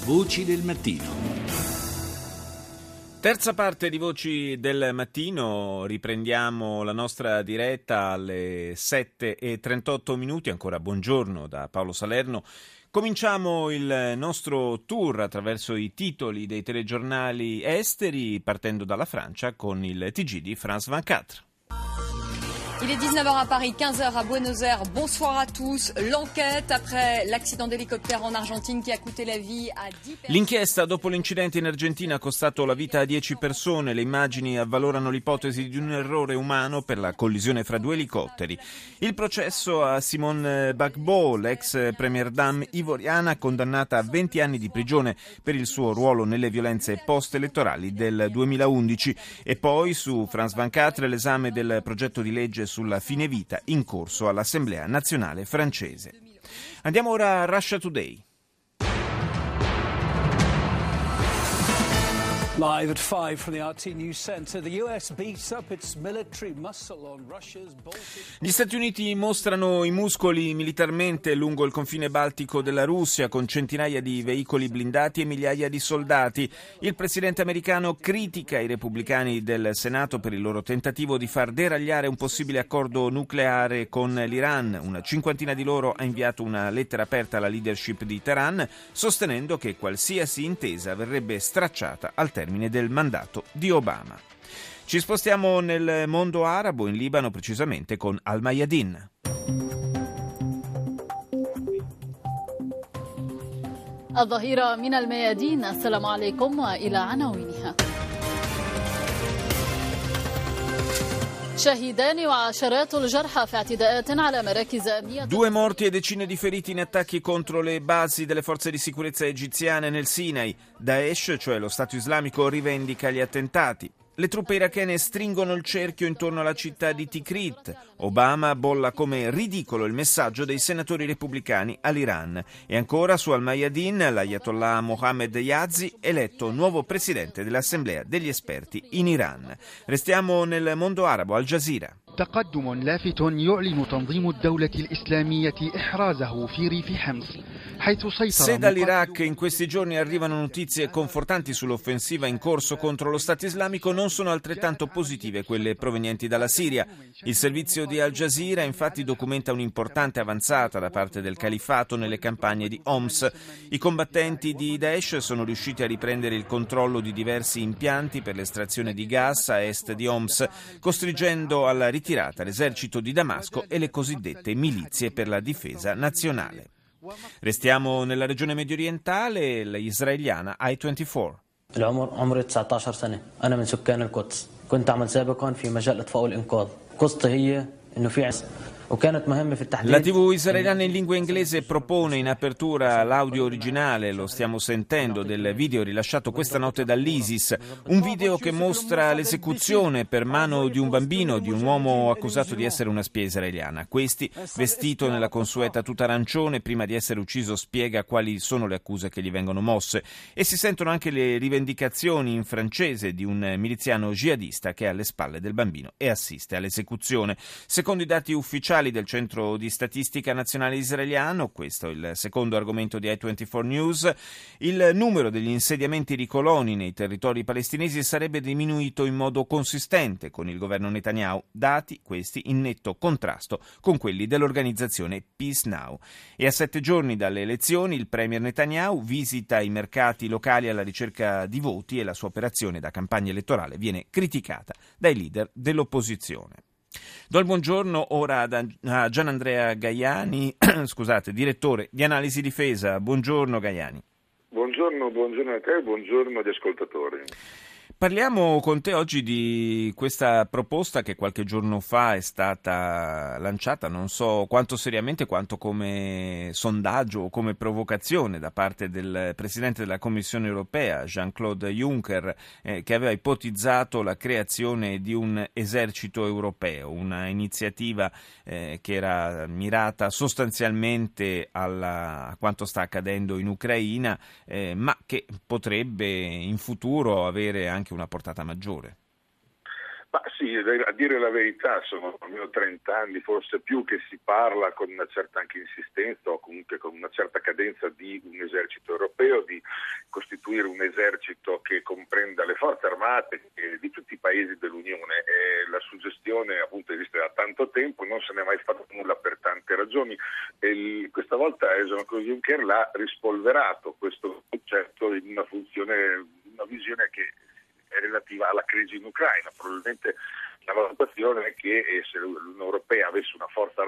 Voci del mattino. Terza parte di Voci del Mattino, riprendiamo la nostra diretta alle 7:38. Ancora buongiorno da Paolo Salerno. Cominciamo il nostro tour attraverso i titoli dei telegiornali esteri, partendo dalla Francia con il TG di France 24. Il est 19h à Paris, 15h à Buenos Aires. Bonsoir à tous. L'enquête après l'accident d'hélicoptère en Argentine qui a coûté la vie a 10 personnes. L'inchiesta dopo l'incidente in Argentina ha costato la vita a 10 persone. Le immagini avvalorano l'ipotesi di un errore umano per la collisione fra due elicotteri. Il processo a Simone Gbagbo, l'ex premier dame ivoriana, condannata a 20 anni di prigione per il suo ruolo nelle violenze post-elettorali del 2011. E poi su France 24 l'esame del progetto di legge sulla fine vita in corso all'Assemblea nazionale francese. Andiamo ora a Russia Today. Live at 5 from the RT News Center, the US beefs up its military muscle on Russia's Baltic. Gli Stati Uniti mostrano i muscoli militarmente lungo il confine baltico della Russia con centinaia di veicoli blindati e migliaia di soldati. Il presidente americano critica i repubblicani del Senato per il loro tentativo di far deragliare un possibile accordo nucleare con l'Iran. Una cinquantina di loro ha inviato una lettera aperta alla leadership di Teheran, sostenendo che qualsiasi intesa verrebbe stracciata al termine del mandato di Obama. Ci spostiamo nel mondo arabo, in Libano precisamente, con Al-Mayadin. الظهيرة من الميادين. السلام عليكم وإلى عناوينها. Due morti e decine di feriti in attacchi contro le basi delle forze di sicurezza egiziane nel Sinai. Daesh, cioè lo Stato islamico, rivendica gli attentati. Le truppe irachene stringono il cerchio intorno alla città di Tikrit. Obama bolla come ridicolo il messaggio dei senatori repubblicani all'Iran. E ancora su Al-Mayadin, l'Ayatollah Mohammed Yazdi, eletto nuovo presidente dell'Assemblea degli esperti in Iran. Restiamo nel mondo arabo, Al Jazeera. تقدم لافت يعلن تنظيم الدولة الإسلامية إحرازه في ريف حمص حيث Se سيطر dall'Iraq in questi giorni arrivano notizie confortanti sull'offensiva in corso contro lo Stato islamico, non sono altrettanto positive quelle provenienti dalla Siria. Il servizio di Al Jazeera infatti documenta un'importante avanzata da parte del califfato nelle campagne di Homs. I combattenti di Daesh sono riusciti a riprendere il controllo di diversi impianti per l'estrazione di gas a est di Homs, costringendo alla ritirata l'esercito di Damasco e le cosiddette milizie per la difesa nazionale. Restiamo nella regione mediorientale, l'israeliana I-24. العمر عمري 19 سنة أنا من سكان القدس كنت أعمل سابقا في مجال الإطفاء والإنقاذ قصتي هي إنه في La TV israeliana in lingua inglese propone in apertura l'audio originale, lo stiamo sentendo, del video rilasciato questa notte dall'ISIS, un video che mostra l'esecuzione per mano di un bambino di un uomo accusato di essere una spia israeliana. Questi, vestito nella consueta tuta arancione, prima di essere ucciso spiega quali sono le accuse che gli vengono mosse e si sentono anche le rivendicazioni in francese di un miliziano jihadista che è alle spalle del bambino e assiste all'esecuzione. Secondo i dati ufficiali del Centro di Statistica Nazionale Israeliano, questo è il secondo argomento di I-24 News, il numero degli insediamenti ricoloni nei territori palestinesi sarebbe diminuito in modo consistente con il governo Netanyahu, dati questi in netto contrasto con quelli dell'organizzazione Peace Now. E a 7 giorni dalle elezioni il premier Netanyahu visita i mercati locali alla ricerca di voti e la sua operazione da campagna elettorale viene criticata dai leader dell'opposizione. Do il buongiorno ora a Gianandrea Gaiani, direttore di Analisi Difesa. Buongiorno Gaiani. Buongiorno a te, buongiorno agli ascoltatori. Parliamo con te oggi di questa proposta che qualche giorno fa è stata lanciata, non so quanto seriamente quanto come sondaggio o come provocazione da parte del Presidente della Commissione europea, Jean-Claude Juncker, che aveva ipotizzato la creazione di un esercito europeo, una iniziativa che era mirata sostanzialmente a quanto sta accadendo in Ucraina, ma che potrebbe in futuro avere anche una portata maggiore. Ma sì, a dire la verità sono almeno 30 anni, forse più, che si parla con una certa anche insistenza o comunque con una certa cadenza di un esercito europeo, di state di tutti i paesi dell'Unione. La suggestione appunto esiste da tanto tempo, non se ne è mai fatto nulla per tante ragioni. Questa volta Jean-Claude Juncker l'ha rispolverato questo concetto in una visione che è relativa alla crisi in Ucraina. Probabilmente la valutazione è che se l'Unione Europea avesse una forze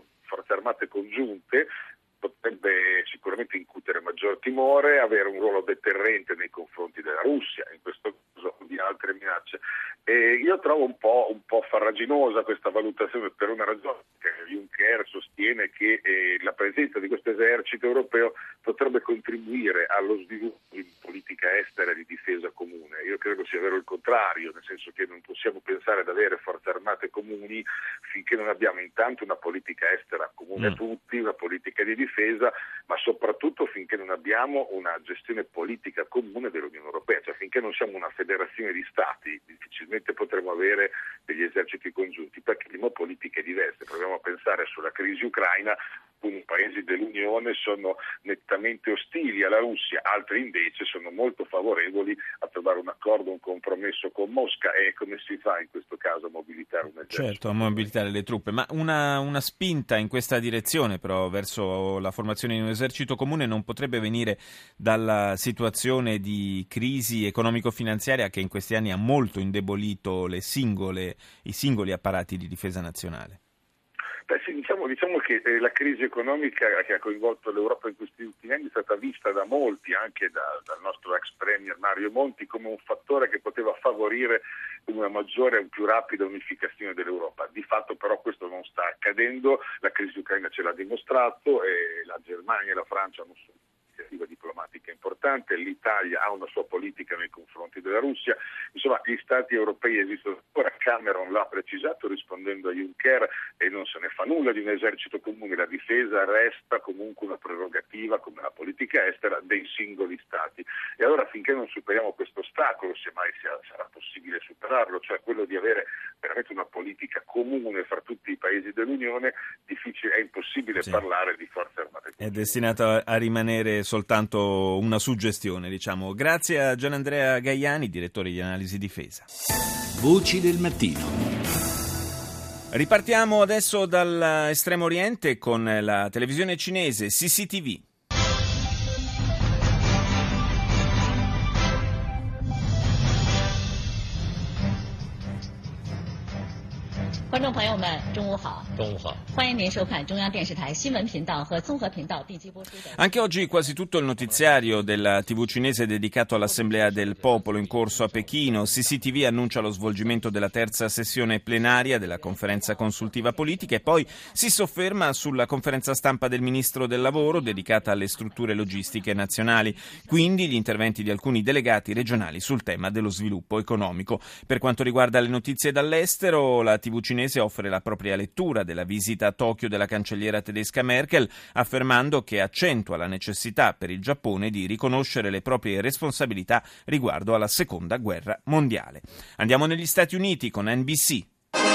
armate congiunte, potrebbe sicuramente incutere maggior timore, avere un ruolo deterrente nei confronti della Russia, in questo caso di altre minacce. Io trovo un po' farraginosa questa valutazione per una ragione, che Juncker sostiene che la presenza di questo esercito europeo potrebbe contribuire allo sviluppo di politica estera e di difesa comune. Io credo sia vero il contrario, nel senso che non possiamo pensare ad avere forze armate comuni finché non abbiamo intanto una politica estera comune a tutti, una politica di difesa, ma soprattutto finché non abbiamo una gestione politica comune dell'Unione Europea, cioè finché non siamo una federazione di stati, difficilmente potremo avere degli eserciti congiunti, perché abbiamo politiche diverse. Proviamo a pensare sulla crisi ucraina. Alcuni paesi dell'Unione sono nettamente ostili alla Russia, altri invece sono molto favorevoli a trovare un accordo, un compromesso con Mosca. E come si fa in questo caso a mobilitare un esercito? Certo, a mobilitare le truppe, ma una spinta in questa direzione però verso la formazione di un esercito comune non potrebbe venire dalla situazione di crisi economico-finanziaria che in questi anni ha molto indebolito i singoli apparati di difesa nazionale? Beh, sì, diciamo che la crisi economica che ha coinvolto l'Europa in questi ultimi anni è stata vista da molti, anche dal nostro ex premier Mario Monti, come un fattore che poteva favorire una maggiore e più rapida unificazione dell'Europa. Di fatto però questo non sta accadendo, la crisi ucraina ce l'ha dimostrato, e la Germania e la Francia hanno un'iniziativa diplomatica importante, l'Italia ha una sua politica nei confronti della Russia, insomma gli stati europei esistono ancora. Cameron l'ha precisato rispondendo a Juncker e non se ne fa nulla di un esercito comune, la difesa resta comunque una prerogativa come la politica estera dei singoli stati. E allora finché non superiamo questo ostacolo, se mai sarà possibile superarlo, cioè quello di avere veramente una politica comune fra tutti i paesi dell'Unione, è impossibile parlare di forze armate. È destinato a rimanere soltanto una suggestione, diciamo. Grazie a Gianandrea Gaiani, direttore di analisi difesa. Voci del mattino. Ripartiamo adesso dall'estremo oriente con la televisione cinese CCTV. 观众朋友们，中午好！中午好！欢迎您收看中央电视台新闻频道和综合频道定期播出的。 Anche oggi quasi tutto il notiziario della TV cinese dedicato all'Assemblea del Popolo in corso a Pechino. CCTV annuncia lo svolgimento della terza sessione plenaria della conferenza consultiva politica e poi si sofferma sulla conferenza stampa del Ministro del Lavoro dedicata alle strutture logistiche nazionali, quindi gli interventi di alcuni delegati regionali sul tema dello sviluppo economico. Per quanto riguarda le notizie dall'estero, la TV cinese offre la propria lettura della visita a Tokyo della cancelliera tedesca Merkel, affermando che accentua la necessità per il Giappone di riconoscere le proprie responsabilità riguardo alla Seconda Guerra Mondiale. Andiamo negli Stati Uniti con NBC.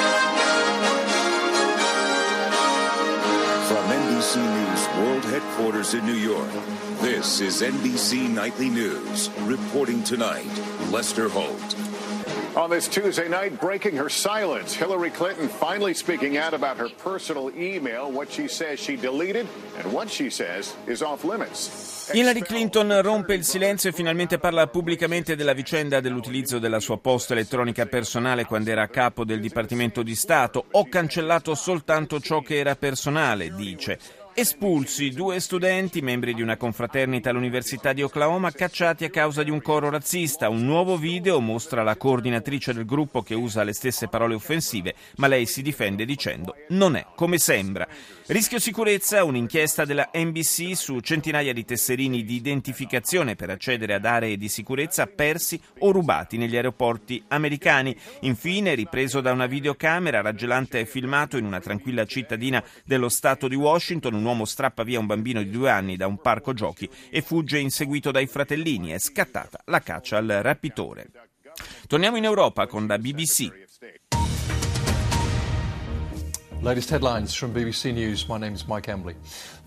From NBC News World Headquarters in New York, this is NBC Nightly News. Reporting tonight, Lester Holt. On this Tuesday night, breaking her silence, Hillary Clinton finally speaking out about her personal email, what she says she deleted and what she says is off limits. Hillary Clinton rompe il silenzio e finalmente parla pubblicamente della vicenda dell'utilizzo della sua posta elettronica personale quando era a capo del Dipartimento di Stato. Ho cancellato soltanto ciò che era personale, dice. Espulsi 2 studenti, membri di una confraternita all'Università di Oklahoma, cacciati a causa di un coro razzista. Un nuovo video mostra la coordinatrice del gruppo che usa le stesse parole offensive, ma lei si difende dicendo non è come sembra. Rischio sicurezza, un'inchiesta della NBC su centinaia di tesserini di identificazione per accedere ad aree di sicurezza persi o rubati negli aeroporti americani. Infine, ripreso da una videocamera, raggelante filmato in una tranquilla cittadina dello stato di Washington, un uomo strappa via un bambino di 2 anni da un parco giochi e fugge inseguito dai fratellini. È scattata la caccia al rapitore. Torniamo in Europa con la BBC. Latest headlines from BBC News. My name is Mike Embley.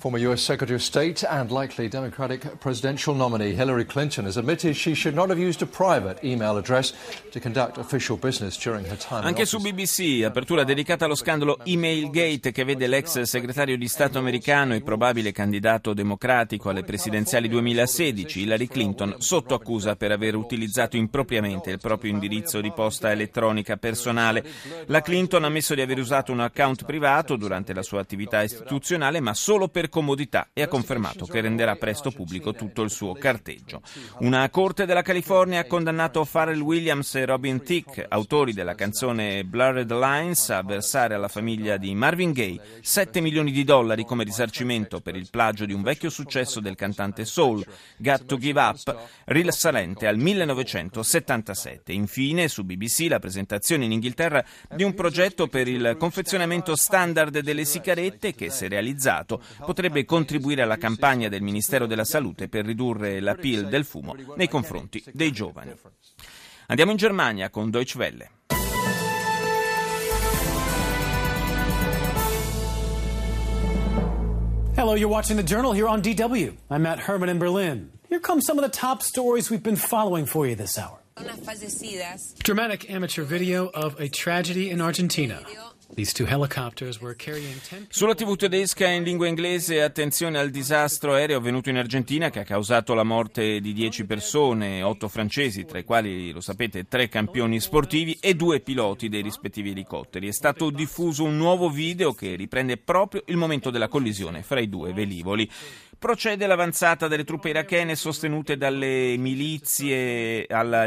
Former U.S. Secretary of State and likely Democratic presidential nominee Hillary Clinton has admitted she should not have used a private email address to conduct official business during her time in Anche office. su BBC, apertura dedicata allo scandalo Emailgate che vede l'ex segretario di Stato americano e probabile candidato democratico alle presidenziali 2016, Hillary Clinton, sotto accusa per aver utilizzato impropriamente il proprio indirizzo di posta elettronica personale. La Clinton ha ammesso di aver usato un account privato durante la sua attività istituzionale, ma solo per comodità, e ha confermato che renderà presto pubblico tutto il suo carteggio. Una corte della California ha condannato Pharrell Williams e Robin Thicke, autori della canzone Blurred Lines, a versare alla famiglia di Marvin Gaye $7 milioni come risarcimento per il plagio di un vecchio successo del cantante soul, Got to Give Up, risalente al 1977. Infine, su BBC, la presentazione in Inghilterra di un progetto per il confezionamento standard delle sigarette che, se realizzato, potrebbe contribuire alla campagna del Ministero della Salute per ridurre l'appeal del fumo nei confronti dei giovani. Andiamo in Germania con Deutsche Welle. Hello, you're watching The Journal here on DW. I'm Matt Herman in Berlin. Here come some of the top stories we've been following for you this hour. Dramatic amateur video of a tragedy in Argentina. These two helicopters were carrying 10... Sulla TV tedesca in lingua inglese, attenzione al disastro aereo avvenuto in Argentina che ha causato la morte di 10 persone, 8 francesi, tra i quali, lo sapete, 3 campioni sportivi e 2 piloti dei rispettivi elicotteri. È stato diffuso un nuovo video che riprende proprio il momento della collisione fra i 2 velivoli. Procede l'avanzata delle truppe irachene sostenute dalle milizie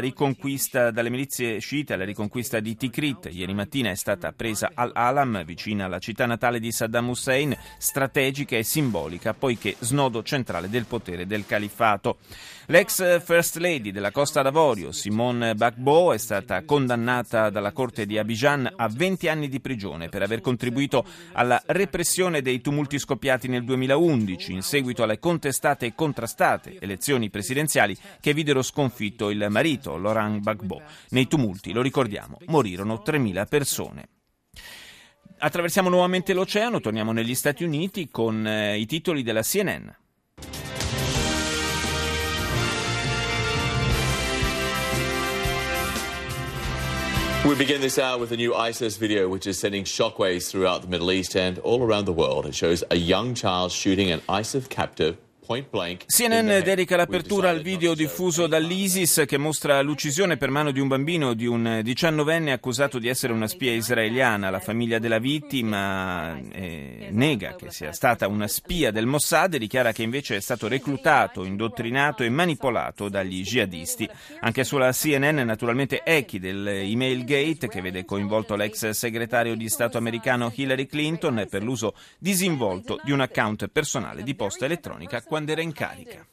sciite alla riconquista di Tikrit. Ieri mattina è stata presa Al-Alam, vicina alla città natale di Saddam Hussein, strategica e simbolica, poiché snodo centrale del potere del califfato. L'ex First Lady della Costa d'Avorio, Simone Gbagbo, è stata condannata dalla Corte di Abidjan a 20 anni di prigione per aver contribuito alla repressione dei tumulti scoppiati nel 2011 in seguito alle contestate e contrastate elezioni presidenziali che videro sconfitto il marito, Laurent Gbagbo. Nei tumulti, lo ricordiamo, morirono 3.000 persone. Attraversiamo nuovamente l'oceano, torniamo negli Stati Uniti con i titoli della CNN. We begin this hour with a new ISIS video which is sending shockwaves throughout the Middle East and all around the world. It shows a young child shooting an ISIS captive. CNN dedica l'apertura al video diffuso dall'ISIS che mostra l'uccisione per mano di un bambino di un 19enne accusato di essere una spia israeliana. La famiglia della vittima nega che sia stata una spia del Mossad e dichiara che invece è stato reclutato, indottrinato e manipolato dagli jihadisti. Anche sulla CNN naturalmente echi dell'Emailgate che vede coinvolto l'ex segretario di Stato americano Hillary Clinton per l'uso disinvolto di un account personale di posta elettronica quando era in carica.